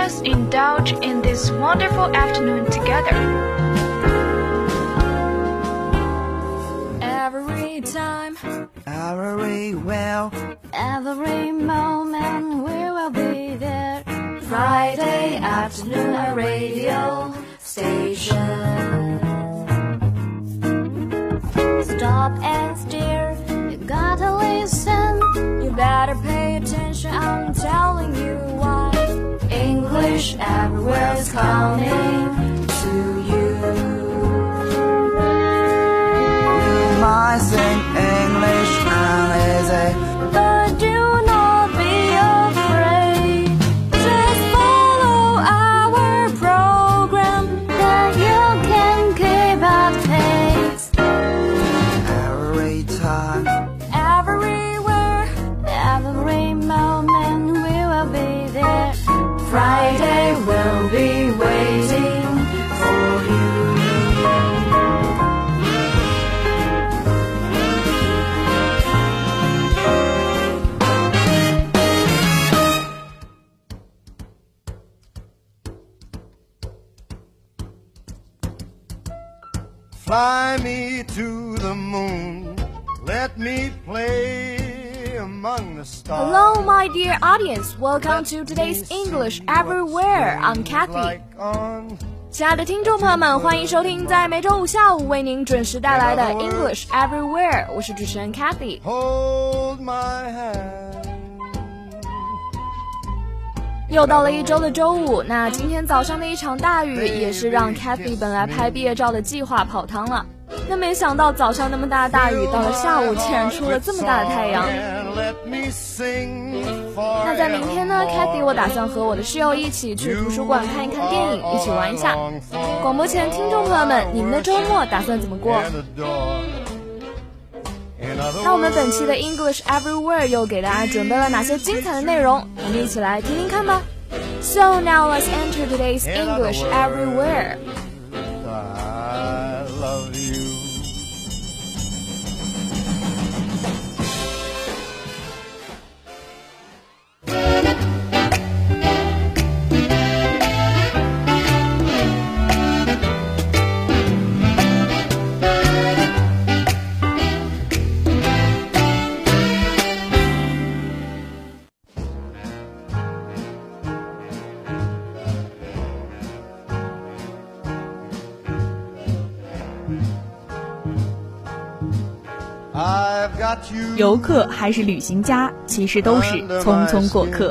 us indulge in this wonderful afternoon together. Every time, everywhere, every moment we will be there. Friday afternoon, a radio station. Stop and stare, you gotta listen. You better pay attention, I'm telling you why. English everywhere is coming to you. you might sing English uneasy, but do not be afraid. Just follow our program, then you can keep up pace. every time, Everywhere, every moment we will be there. Friday will be waiting for you. Fly me to the moon, let me play among the stars. Hello, my dear audience. Welcome to today's English Everywhere. I'm Kathy. Like on 亲爱的听众朋友们，欢迎收听在每周五下午为您准时带来的 English Everywhere。我是主持人 Kathy。 hold my hand. 又到了一周的周五，那今天早上的一场大雨也是让 Kathy 本来拍毕业照的计划泡汤了。那没想到早上那么大的大雨，到了下午竟然出了这么大的太阳。那在明天呢 Kathy 我打算和我的室友一起去图书馆看一看电影，一起玩一下。广播前听众朋友们，你们的周末打算怎么过？那我们本期的 English Everywhere 又给大家准备了哪些精彩的内容？我们一起来听听看吧。So now let's enter today's English Everywhere. I love you. I've got you. 游客还是旅行家，其实都是匆匆过客。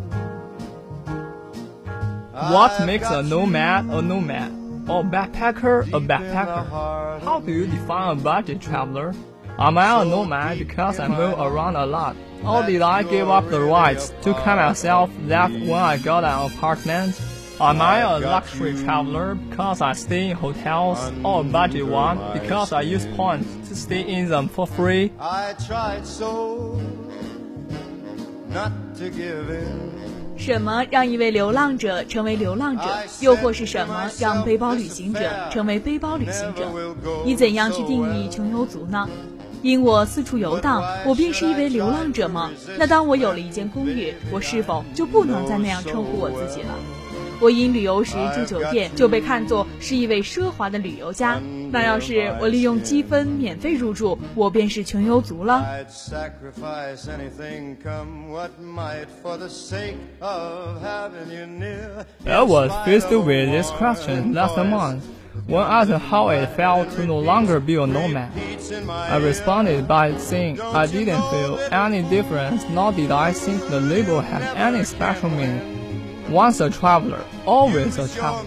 What makes a nomad a nomad? Or backpacker a backpacker? How do you define a budget traveler? Am I a nomad because I move around a lot? Or did I give up the rights to tell myself that when I got an apartment? Am I a luxury traveler because I stay in hotels, or a budget one because I use points to stay in them for free? I tried so not to give in. 什么让一位流浪者成为流浪者？又或是什么让背包旅行者成为背包旅行者？你怎样去定义穷游族呢？因我四处游荡，我便是一位流浪者吗？那当我有了一间公寓，我是否就不能再那样称呼我自己了？我因旅游时住酒店就被看作是一位奢华的旅游家，那要是我利用积分免费入住，我便是穷游族了。 I'd sacrifice anything come what might for the sake of having you near. I was faced with this question last month when asked how it felt to no longer be a nomad. I responded by saying I didn't feel any difference, nor did I think the label had any special meaning. Once a traveler, always a traveler.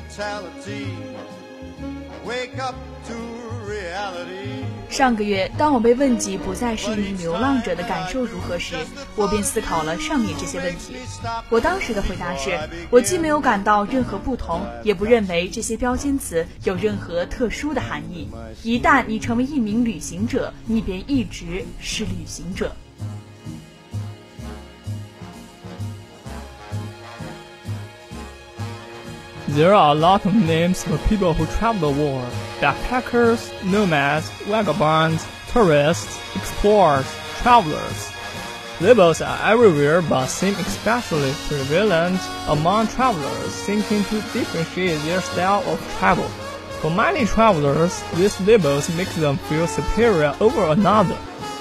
Wake up to reality. 上个月，当我被问及不再是一名流浪者的感受如何时，我便思考了上面这些问题。我当时的回答是，我既没有感到任何不同，也不认为这些标签词有任何特殊的含义。一旦你成为一名旅行者，你便一直是旅行者。 There are a lot of names for people who travel the world. Backpackers, nomads, vagabonds, tourists, explorers, travelers. Labels are everywhere but seem especially prevalent among travelers seeking to differentiate their style of travel. For many travelers, these labels make them feel superior over another.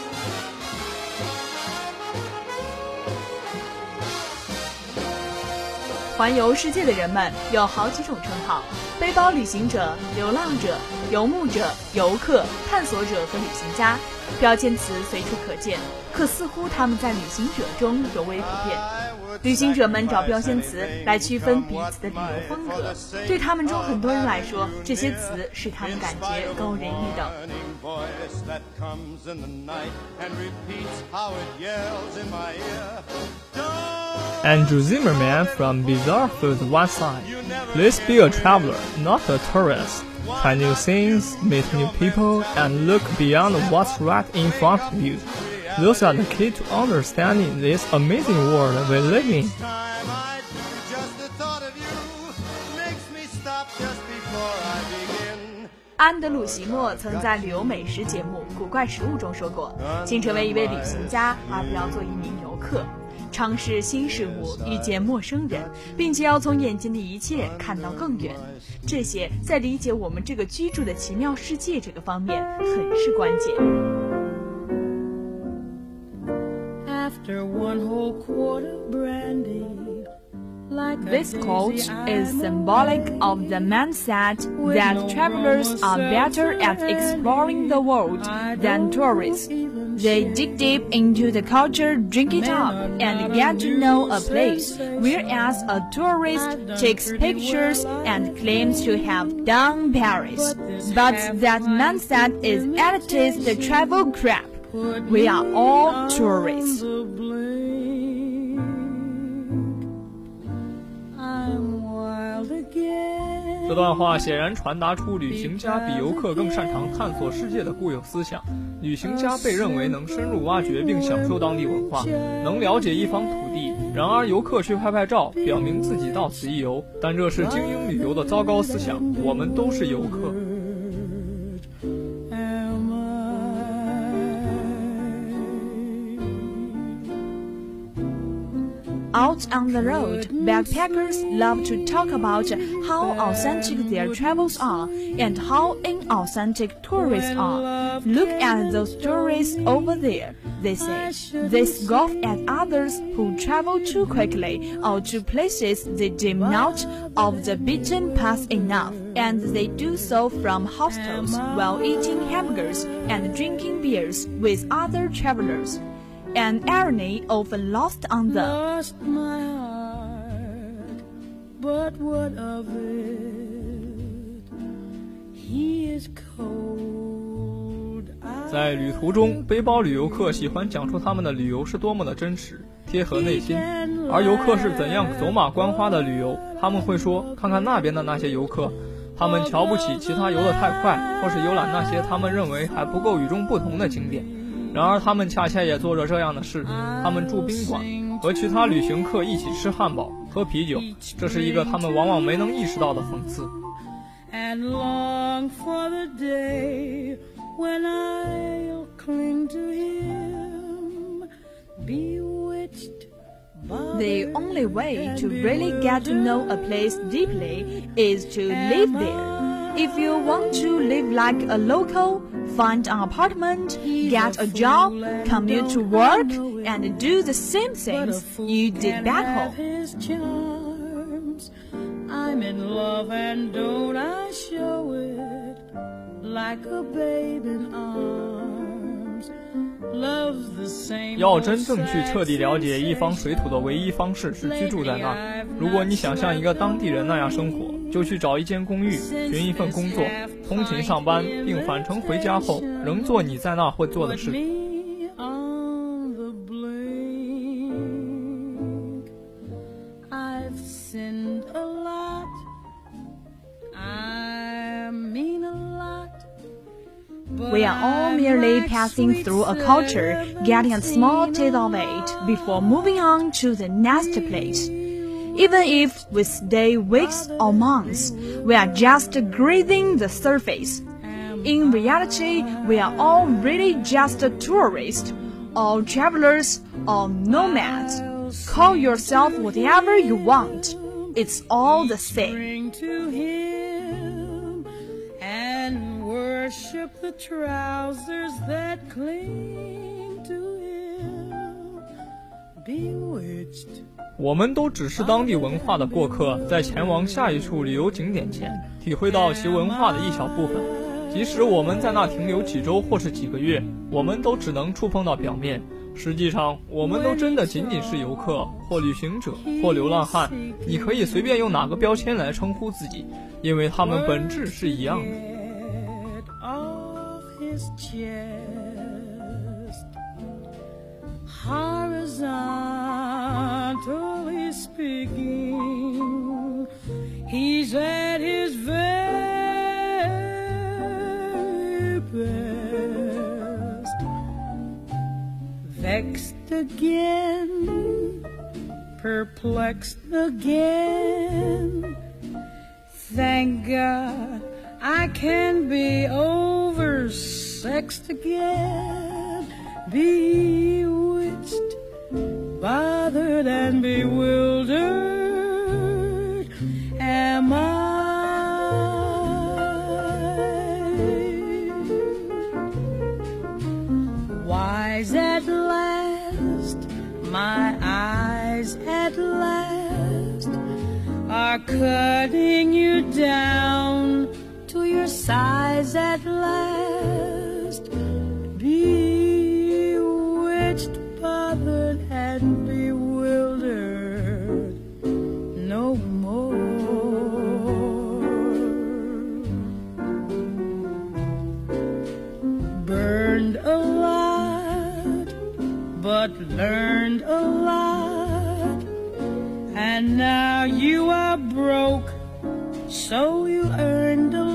环游世界的人们有好几种称号：背包旅行者、流浪者、游牧者、游客、探索者和旅行家。标签词随处可见，可似乎他们在旅行者中尤为普遍。旅行者们找标签词来区分彼此的旅游风格，对他们中很多人来说，这些词使他们感觉高人一等。 Andrew Zimmerman from Bizarre Foods once said, "Please be a traveler, not a tourist. Try new things, meet new people, and look beyond what's right in front of you. Those are the key to understanding this amazing world we live in." 安德鲁·席莫曾在旅游美食节目《古怪食物》中说过：“请成为一位旅行家，而不要做一名游客。尝试新事物，遇见陌生人，并且要从眼前的一切看到更远。这些在理解我们这个居住的奇妙世界这个方面很是关键。” After one whole quart of brandy, This quote is symbolic of the mindset that travelers are better at exploring the world than tourists. They dig deep into the culture, drink it up, and get to know a place, whereas a tourist takes pictures and claims to have done Paris. But that mindset is elitist travel crap. We are all tourists. 这段话显然传达出旅行家比游客更擅长探索世界的固有思想。旅行家被认为能深入挖掘并享受当地文化，能了解一方土地。然而游客去拍拍照，表明自己到此一游，但这是精英旅游的糟糕思想。我们都是游客。 Out on the road, backpackers love to talk about how authentic their travels are and how inauthentic tourists are. Look at those tourists over there, they say. They scoff at others who travel too quickly or to places they deem not of the beaten path enough, and they do so from hostels while eating hamburgers and drinking beers with other travelers. An irony often lost on them. lost my heart, but what of it? He is cold. 在旅途中，背包旅游客喜欢讲述他们的旅游是多么的真实，贴合内心，而游客是怎样走马观花的旅游。他们会说，看看那边的那些游客，他们瞧不起其他游得太快，或是游览那些他们认为还不够与众不同的景点。然而他们恰恰也做着这样的事，他们住宾馆，和其他旅行客一起吃汉堡、喝啤酒，这是一个他们往往没能意识到的讽刺。 And long for the day when I'll cling to him, bewitched by The only way to really get to know a place deeply is to live there. If you want to live like a local, find an apartment, get a job, commute to work, and do the same things you did back home. his charms. I'm in love and don't I show it like a babe in arms. Love's the same. 要真正去彻底了解一方水土的唯一方式是居住在那儿。如果你想像一个当地人那样生活，就去找一间公寓，寻一份工作，通勤上班，并返程回家后仍做你在那会做的事。 On the blink, I've sinned a lot. I mean a lot. We are all merely passing through a culture, getting a small taste of it before moving on to the next place. Even if we stay weeks or months, we are just grazing the surface. In reality, we are all really just tourists. all travelers, all nomads. Call yourself whatever you want. It's all the same. Bring to him and worship the trousers that cling to him. Bewitched. 我们都只是当地文化的过客，在前往下一处旅游景点前，体会到其文化的一小部分。即使我们在那停留几周或是几个月，我们都只能触碰到表面。实际上，我们都真的仅仅是游客，或旅行者，或流浪汉。你可以随便用哪个标签来称呼自己，因为它们本质是一样的。 Horizontally speaking, he's at his very best. Vexed again, perplexed again. Thank God I can be oversexed again. Bewitched, bothered and bewildered am I. Wise at last, my eyes at last are cutting you down to your size at last. Bewitched, bothered and bewildered no more. Burned a lot, but learned a lot, and now you are broke, so you earned a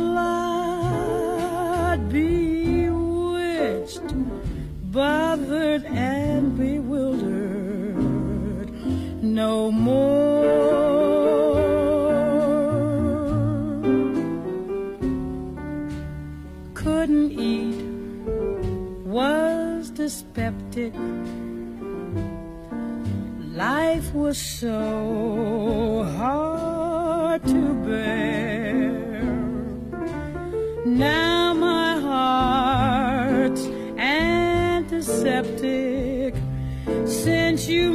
lot. Bewitched, bothered and bewildered no more. Couldn't eat, was dyspeptic. Life was so hard to bear. Now my heart's antiseptic since you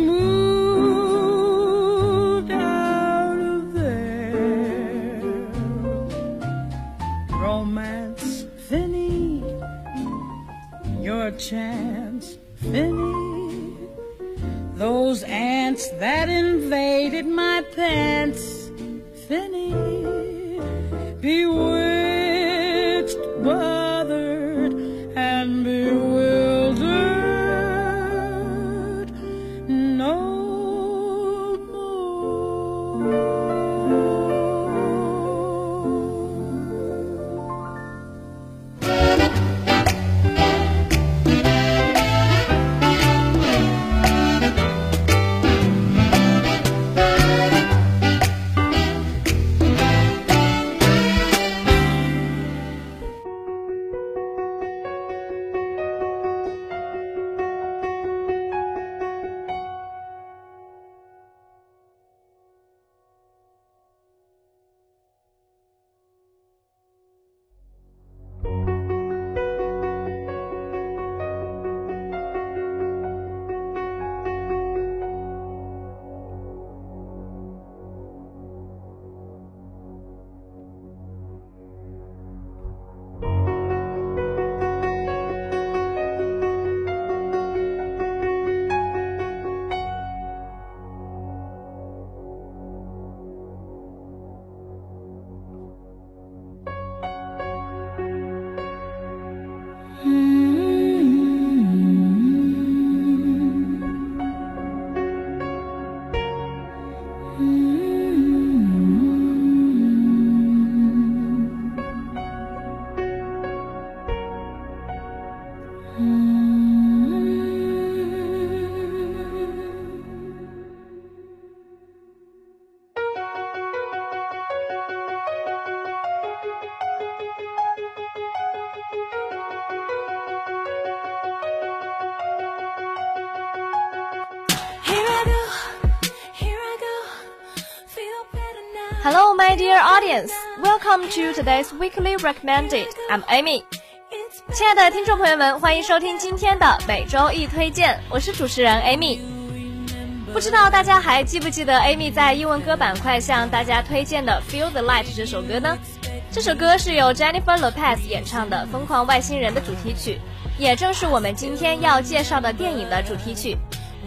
moved out of there. Romance, Finny, your chance, Finny. Those ants that invaded my pants, Finny. Bewitched, bothered and bewildered no more. Hello, my dear audience. Welcome to today's weekly recommended. I'm Amy. 亲爱的听众朋友们，欢迎收听今天的每周一推荐，我是主持人 Amy。不知道大家还记不记得 Amy 在英文歌板块向大家推荐的 Feel the Light 这首歌呢？这首歌是由 Jennifer Lopez 演唱的《疯狂外星人》的主题曲，也正是我们今天要介绍的电影的主题曲。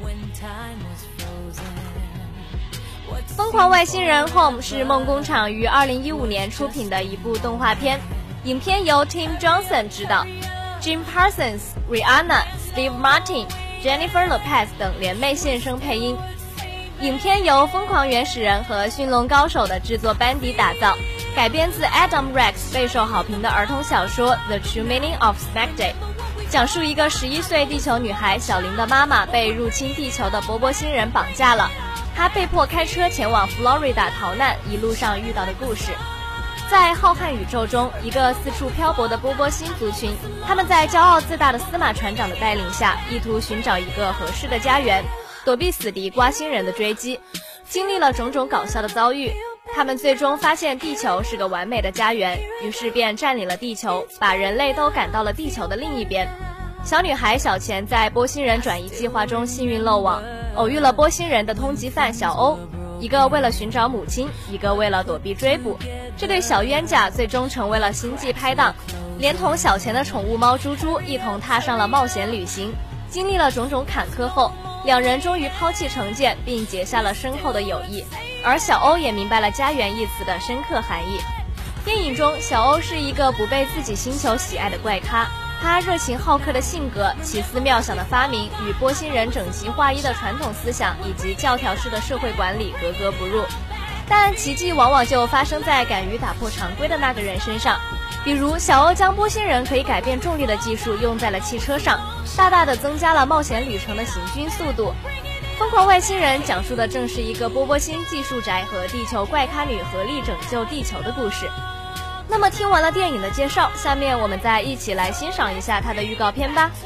疯狂外星人 Home 是梦工厂于2015年出品的一部动画片，影片由 Tim Johnson 执导， Jim Parsons、Rihanna、Steve Martin、Jennifer Lopez 等联袂现身配音。影片由疯狂原始人和驯龙高手的制作班底打造，改编自 Adam Rex 备受好评的儿童小说 The True Meaning of Snack Day， 讲述一个11岁地球女孩小林的妈妈被入侵地球的波波星人绑架了，她被迫开车前往 Florida 逃难，一路上遇到的故事。在浩瀚宇宙中，一个四处漂泊的波波星族群，他们在骄傲自大的司马船长的带领下，意图寻找一个合适的家园，躲避死敌瓜星人的追击。经历了种种搞笑的遭遇，他们最终发现地球是个完美的家园，于是便占领了地球，把人类都赶到了地球的另一边。小女孩小钱在波星人转移计划中幸运漏网，偶遇了波星人的通缉犯小欧，一个为了寻找母亲，一个为了躲避追捕。这对小冤家最终成为了星际拍档，连同小钱的宠物猫猪猪一同踏上了冒险旅行。经历了种种坎坷后，两人终于抛弃成见，并结下了深厚的友谊。而小欧也明白了家园一词的深刻含义。电影中，小欧是一个不被自己星球喜爱的怪咖，他热情好客的性格、奇思妙想的发明与波星人整齐划一的传统思想以及教条式的社会管理格格不入。但奇迹往往就发生在敢于打破常规的那个人身上，比如小欧将波星人可以改变重力的技术用在了汽车上，大大的增加了冒险旅程的行军速度。疯狂外星人讲述的正是一个波波星技术宅和地球怪咖女合力拯救地球的故事。那么听完了电影的介绍，下面我们再一起来欣赏一下它的预告片吧。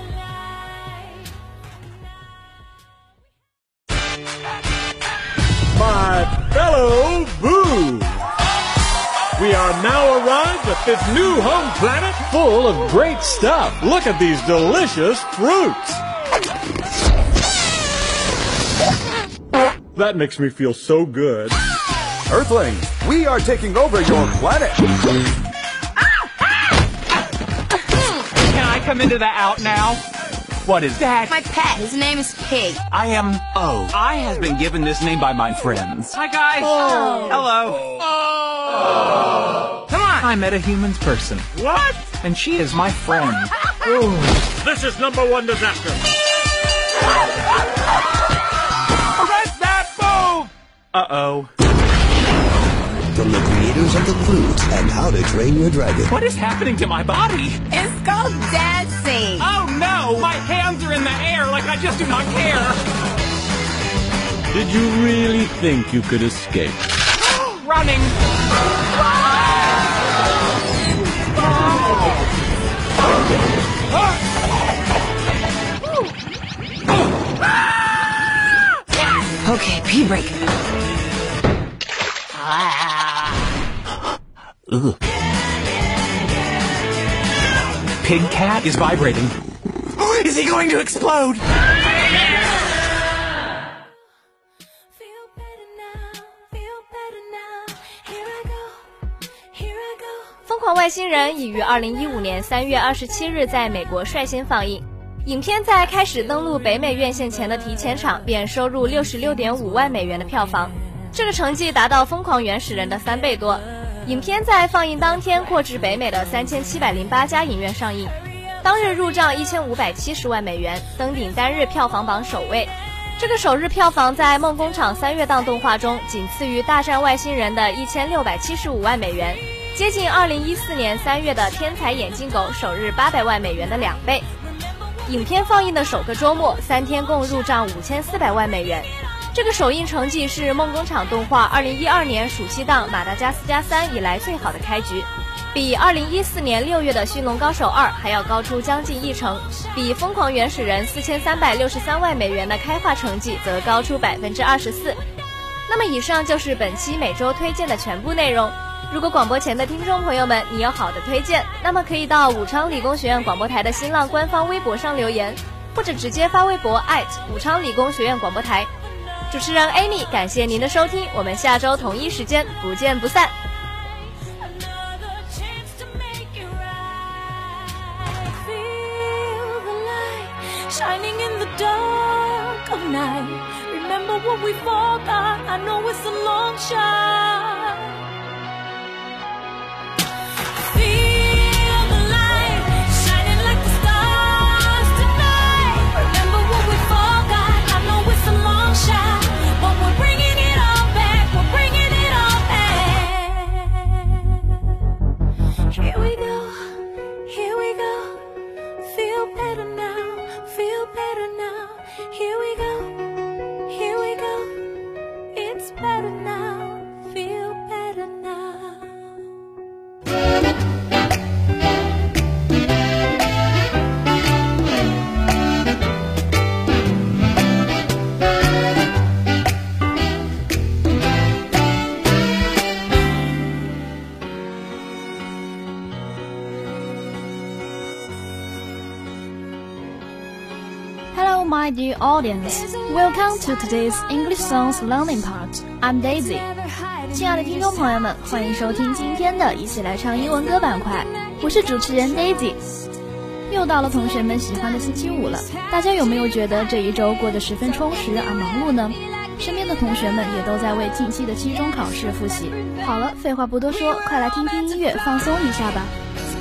My fellow Boo! We are now arrived at this new home planet full of great stuff. Look at these delicious fruits. That makes me feel so good. Earthlings, we are taking over your planet. Can I come into the out now? What is that? My pet. His name is Pig. I am O. I has been given this name by my friends. Hi, guys. Oh. Hello. Oh. Come on. I met a human person. What? And she is my friend. This is #1 disaster. Arrest that move! Uh-oh. From the creators of The Flute and How to Train Your Dragon. What is happening to my body? It's called dancing. Oh, no! My hands are in the air like I just do not care. Did you really think you could escape? Running. Okay, pee break. Ugh. Pig cat is vibrating. Is he going to explode? 疯狂外星人已于2015年3月27日在美国率先放映。影片在开始登陆北美院线前的提前场便收入66.5万美元的票房，这个成绩达到疯狂原始人的3倍多。影片在放映当天扩至北美的3708家影院上映，当日入账1570万美元，登顶单日票房榜首位。这个首日票房在梦工厂3月档动画中仅次于大战外星人的1675万美元，接近2014年3月的天才眼镜狗首日800万美元的2倍。影片放映的首个周末3天共入账5400万美元，这个首映成绩是梦工厂动画2012年暑期档马达加斯加3以来最好的开局，比2014年6月的驯龙高手2还要高出将近1成，比疯狂原始人4363万美元的开画成绩则高出24%。 那么以上就是本期每周推荐的全部内容。如果广播前的听众朋友们你有好的推荐，那么可以到武昌理工学院广播台的新浪官方微博上留言，或者直接发微博武昌理工学院广播台。主持人 Amy 感谢您的收听，我们下周同一时间不见不散。 Shining in the dark of night. Remember what we forgot. I know it's a long shot. Feel the light shining like the stars tonight. Remember what we forgot. I know it's a long shot, but we're bringing it all back. We're bringing it all back. Here we go. Here we go. Feel better now.Feel better now. Here we go. Here we go. It's better now. Feel better now. Hello, my dear audience. Welcome to today's English songs learning part. I'm Daisy. 亲爱的听众朋友们，欢迎收听今天的一起来唱英文歌板块。我是主持人 Daisy。又到了同学们喜欢的星期五了，大家有没有觉得这一周过得十分充实而忙碌呢？身边的同学们也都在为近期的期中考试复习。好了，废话不多说，快来听听音乐，放松一下吧。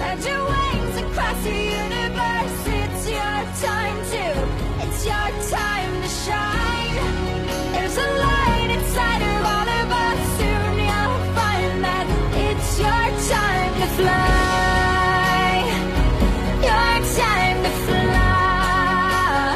It's your time to shine. There's a light inside of all of us. Soon you'll find that it's your time to fly. Your time to fly.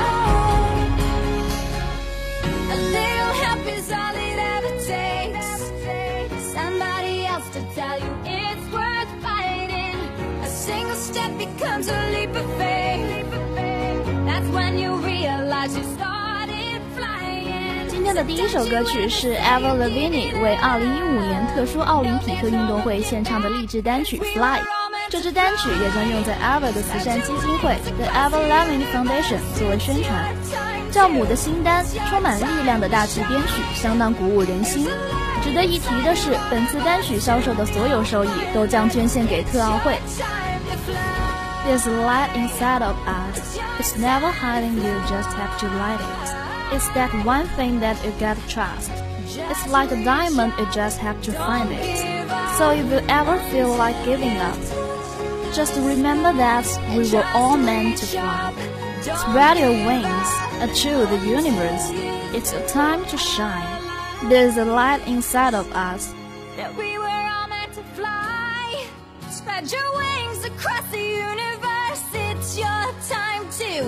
A little help is all it ever takes. Somebody else to tell you it's worth fighting. A single step becomes a leap of faith.That's when you realize you started flying. 今天的第一首歌曲是 Avril Lavigne 为2015年特殊奥林匹克运动会献唱的励志单曲 Fly。这支单曲也将用在 Avril 的慈善基金会 The Avril Lavigne Foundation 作为宣传。教母的新单，充满力量的大气编曲，相当鼓舞人心。值得一提的是，本次单曲销售的所有收益都将捐献给特奥会。There's a light inside of us. It's never hiding, you just have to light it. It's that one thing that you gotta trust. It's like a diamond, you just have to find it. So if you ever feel like giving up, just remember that we were all meant to fly. Spread your wings, achieve the universe. It's your time to shine. There's a light inside of us. That we were all meant to fly. Spread your wings across the universe.It's your time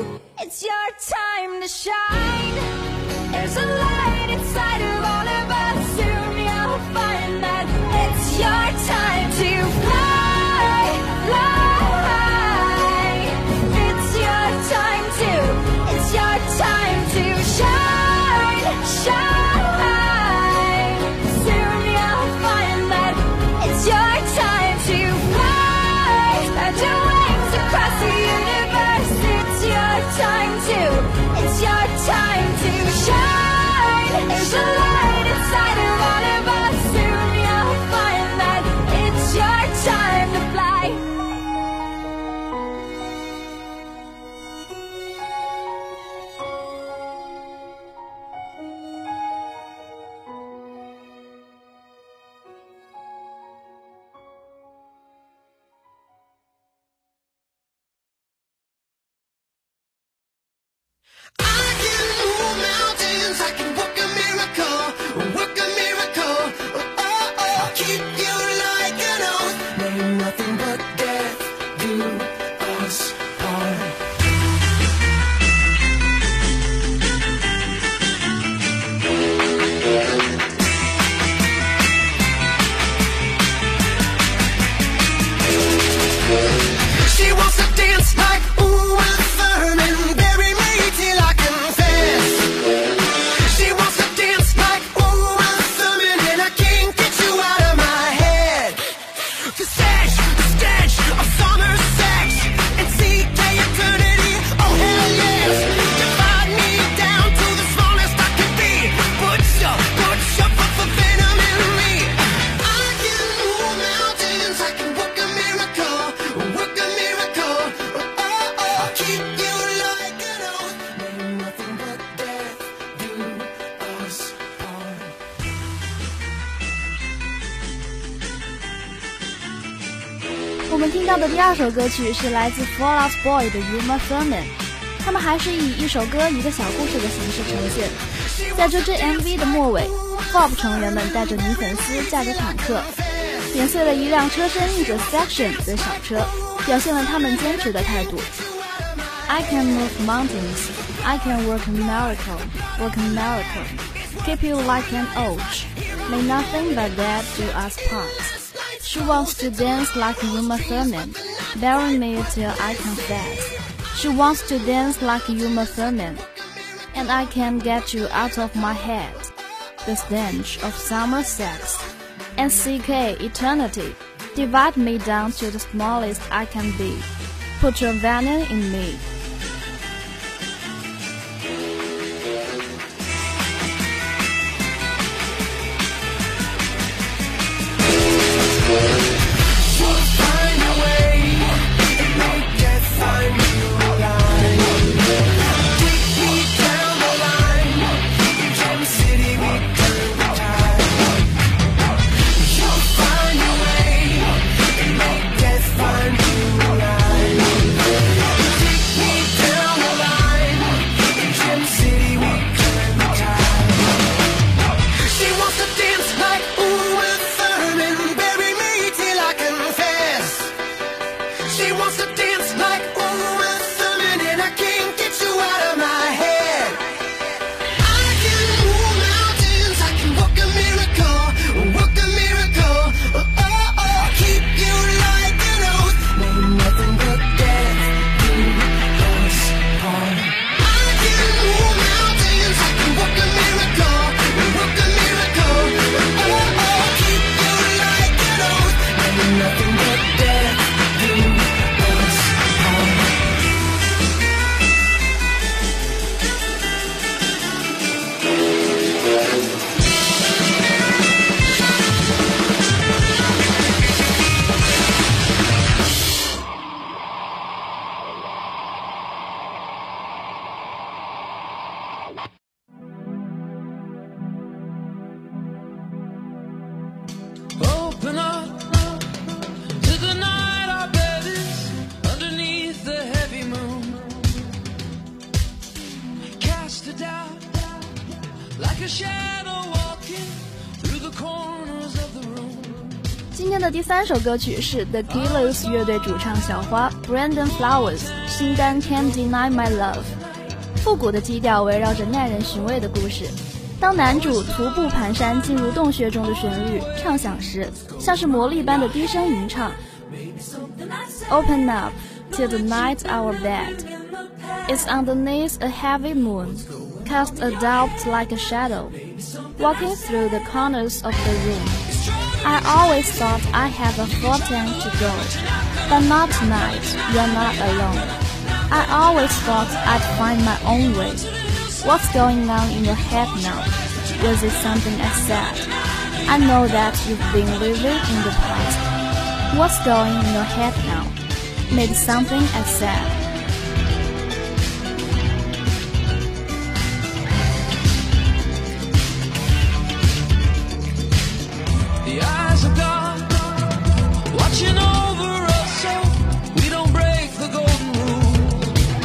to shine. There's a light inside of all of us. Soon you'll find that it's your time to fly, fly. It's your time to shine, shine. Soon you'll find that it's your time to fly. Spread your wings across the universe.It's your time to shine. There's a light 我们听到的第二首歌曲是来自 Fall Out Boy 的 Uma Thurman， 他们还是以一首歌一个小故事的形式呈现。在这支 MV 的末尾， FOP 成员们带着女粉丝驾着坦克，碾碎了一辆车身印着 Section 的小车，表现了他们坚持的态度。I can move mountains, I can work a miracle, keep you like an oak, may nothing but that do us part. She wants to dance like Uma Thurman, bury me till I confess. She wants to dance like Uma Thurman, and I can't get you out of my head. The stench of summer sex and CK eternity divide me down to the smallest I can be. Put your venom in me. Open up to the night, our bed is underneath the heavy moon. Cast it down like a shadow walking through the corners of the room. 今天的第三首歌曲是 The Killers 乐队主唱小花 Brandon Flowers 新单 Can't Deny My Love。 复古的基调围绕着耐人寻味的故事。当男主徒步蹒跚进入洞穴中的旋律唱响时，像是魔力般的低声吟唱。 Open up till the night our bed is underneath a heavy moon, cast a doubt like a shadow, walking through the corners of the room. I always thought I had a full tank to go, but not tonight, you're not alone. I always thought I'd find my own way. What's going on in your head now? Was it something I said? I know that you've been living in the past. What's going in your head now? Maybe something I said. The eyes of God watching over us so we don't break the golden rule.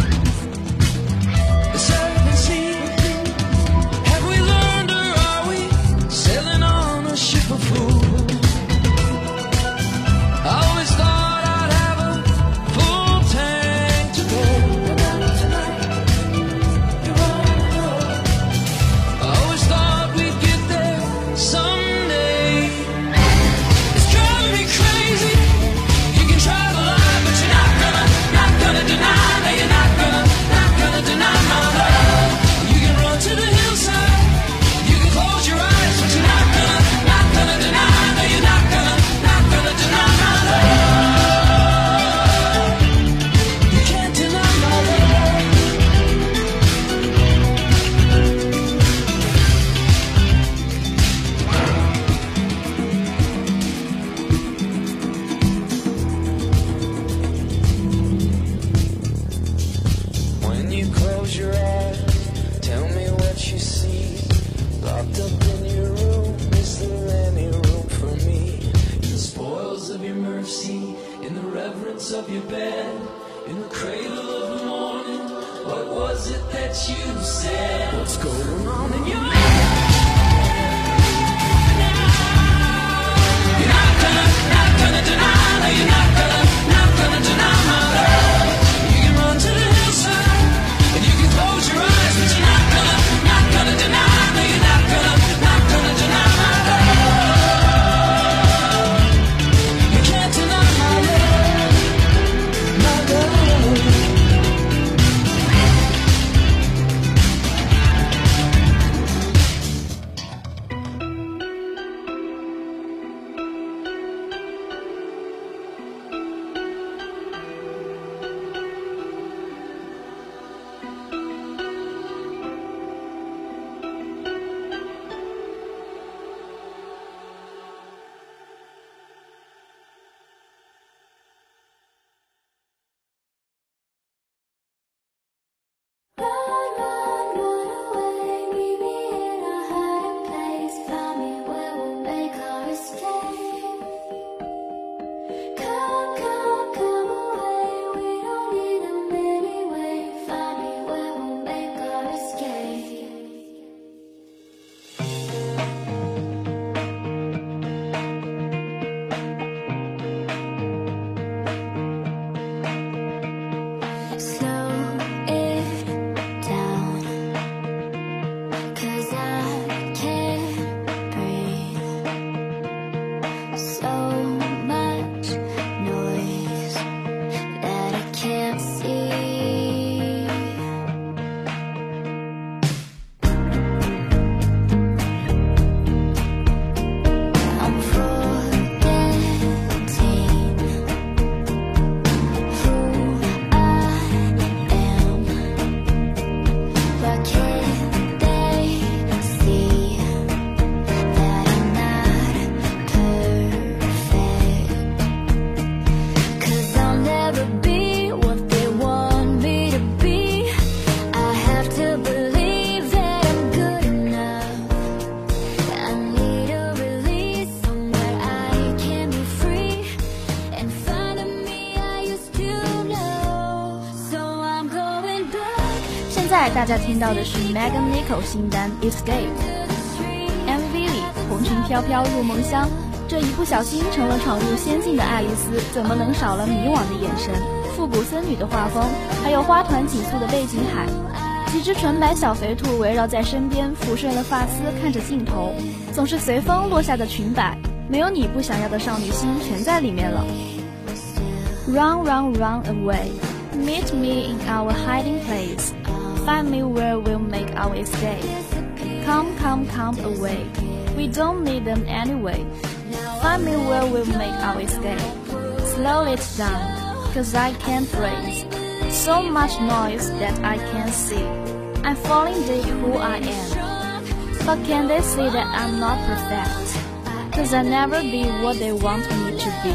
The seven seas, have we learned or are we sailing on a ship of fools? I always thought I'd have a full tank corners of your bed, in the cradle of the morning, what was it that you said? What's going on in your head? You're not gonna deny, no, you're not gonna deny my love. You can run to the hillside, and you can close your eyes, but you're not gonna deny, no, you're not gonna deny my love. You can't deny my love, my love. 大家听到的是 Megan Nichol 新单 Escape。MV 里红裙飘飘入梦乡，这一不小心成了闯入仙境的爱丽丝，怎么能少了迷惘的眼神、复古僧女的画风，还有花团锦簇的背景海。几只纯白小肥兔围绕在身边，抚顺了发丝，看着镜头，总是随风落下的裙摆，没有你不想要的少女心全在里面了。Run, run, run away. Meet me in our hiding place. Find me where we'll make our escape. Come, come, come away. We don't need them anyway. Find me where we'll make our escape. Slow it down, cause I can't breathe. So much noise that I can't see. I'm falling deep who I am. But can they see that I'm not perfect? Cause I'll never be what they want me to be.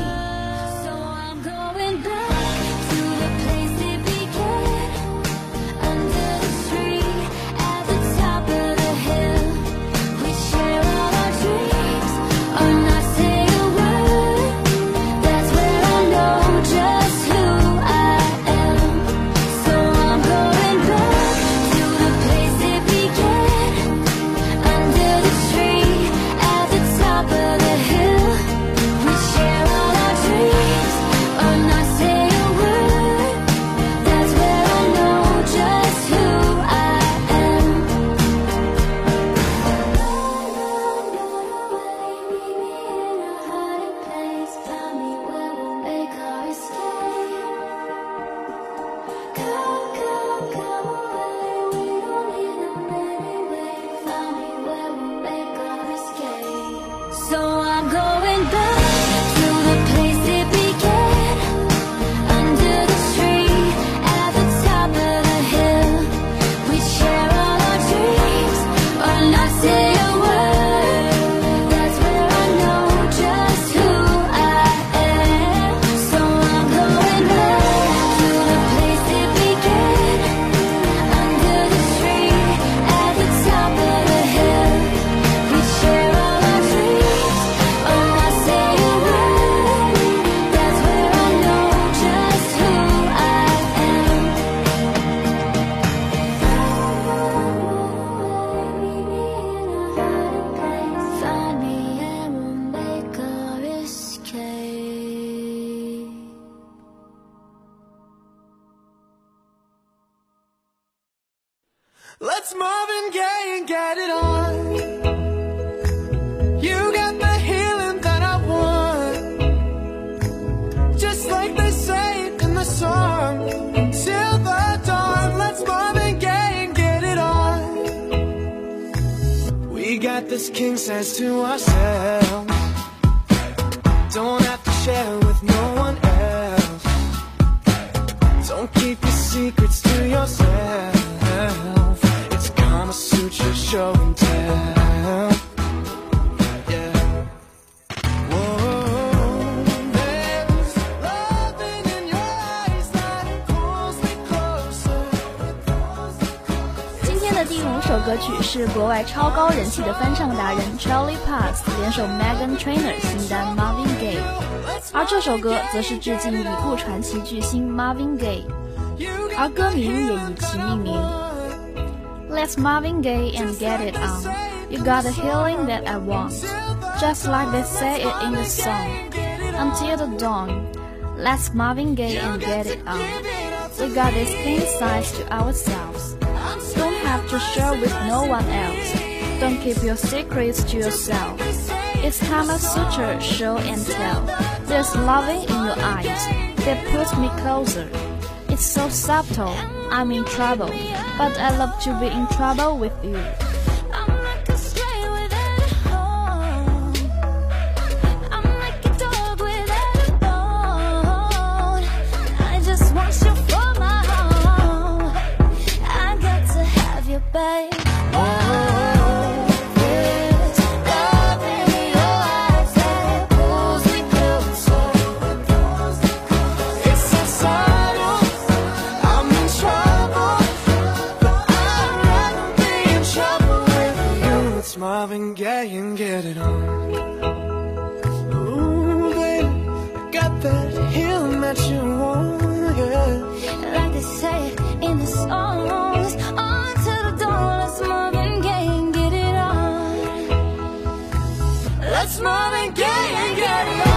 Let's Marvin Gaye and get it on. You got the healing that I want, just like they say in the song. Till the dawn, let's Marvin Gaye and get it on. We got this king size to ourselves, don't have to share with no one else. Don't keep your secrets to yourself. It's Kama Sutra show and tell. Yeah. Whoa, there's loving in your eyes that pulls me closer. 今天的第5首歌曲是国外超高人气的翻唱达人 Charlie Puth 联手 Meghan Trainor 新单 Marvin Gaye， 而这首歌则是致敬已故传奇巨星 Marvin Gaye， 而歌名也以其命名。Let's Marvin Gaye and get it on. You got the healing that I want, just like they say it in the song. Until the dawn, let's Marvin Gaye and get it on. We got this king size to ourselves, don't have to share with no one else. Don't keep your secrets to yourself. It's Kama Sutra show and tell. There's loving in your eyes that pulls me closer. It's so subtle, I'm in trouble, but I love to be in trouble with you. I'm like a stray without a home. I'm like a dog without a bone. I just want you for my home. I got to have you, babe. Marvin Gaye and get it on. Ooh, baby, got that healing that you want, yeah. Like they say in the songs, on to the dawn, let's Marvin Gaye and get it on. Let's Marvin Gaye and get it on.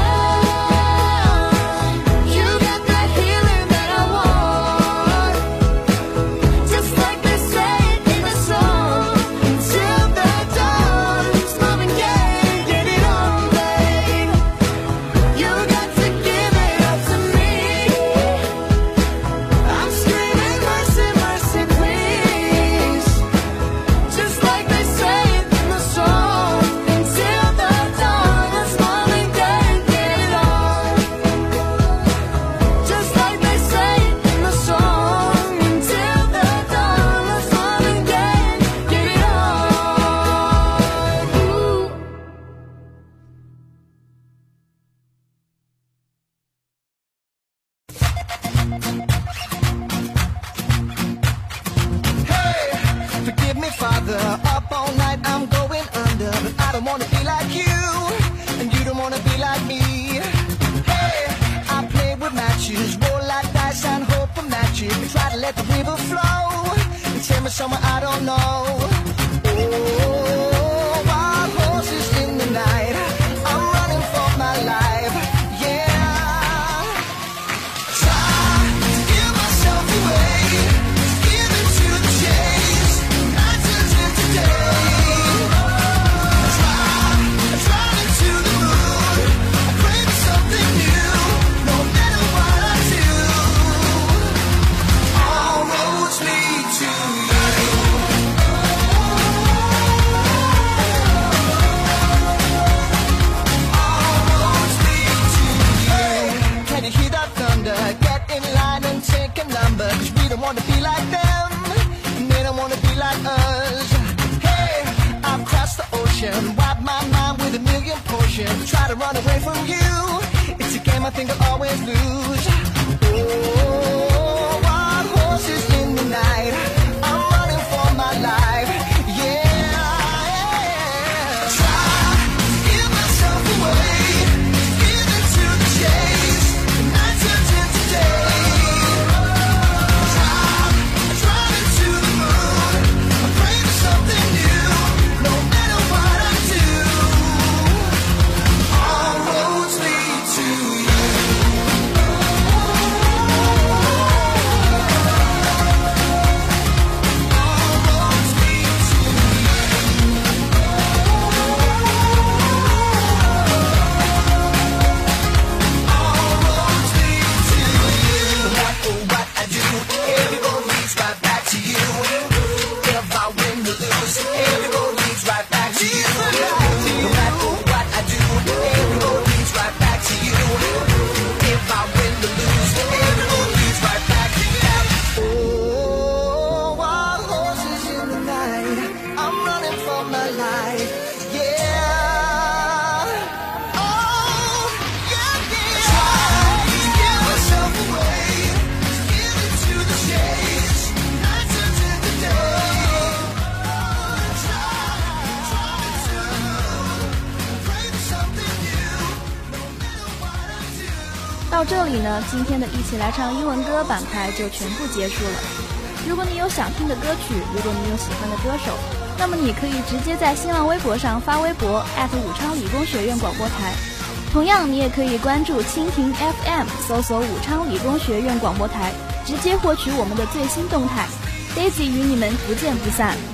Up all night, I'm going under, but I don't wanna be like you, and you don't wanna be like me. Hey, I play with matches, roll like dice and hope for magic. Try to let the river flow, and take me somewhere I don't know. Oh, wild horses in the night, I'm running for my life. Yeah, try to give myself away, give into the chase. Want to be like them, and they don't want to be like us. Hey, I've crossed the ocean, wiped my mind with a million potions. Try to run away from you, it's a game I think I'll always lose. Oh, wild horses in the night, I'm running for my life. Yeah, try to give myself away, give into the chase, and night turns into day. To you. 到这里呢，今天的一起来唱英文歌板块就全部结束了。如果你有想听的歌曲，如果你有喜欢的歌手，那么你可以直接在新浪微博上发微博武昌理工学院广播台。同样，你也可以关注蜻蜓 FM， 搜索武昌理工学院广播台，直接获取我们的最新动态。Daisy 与你们不见不散。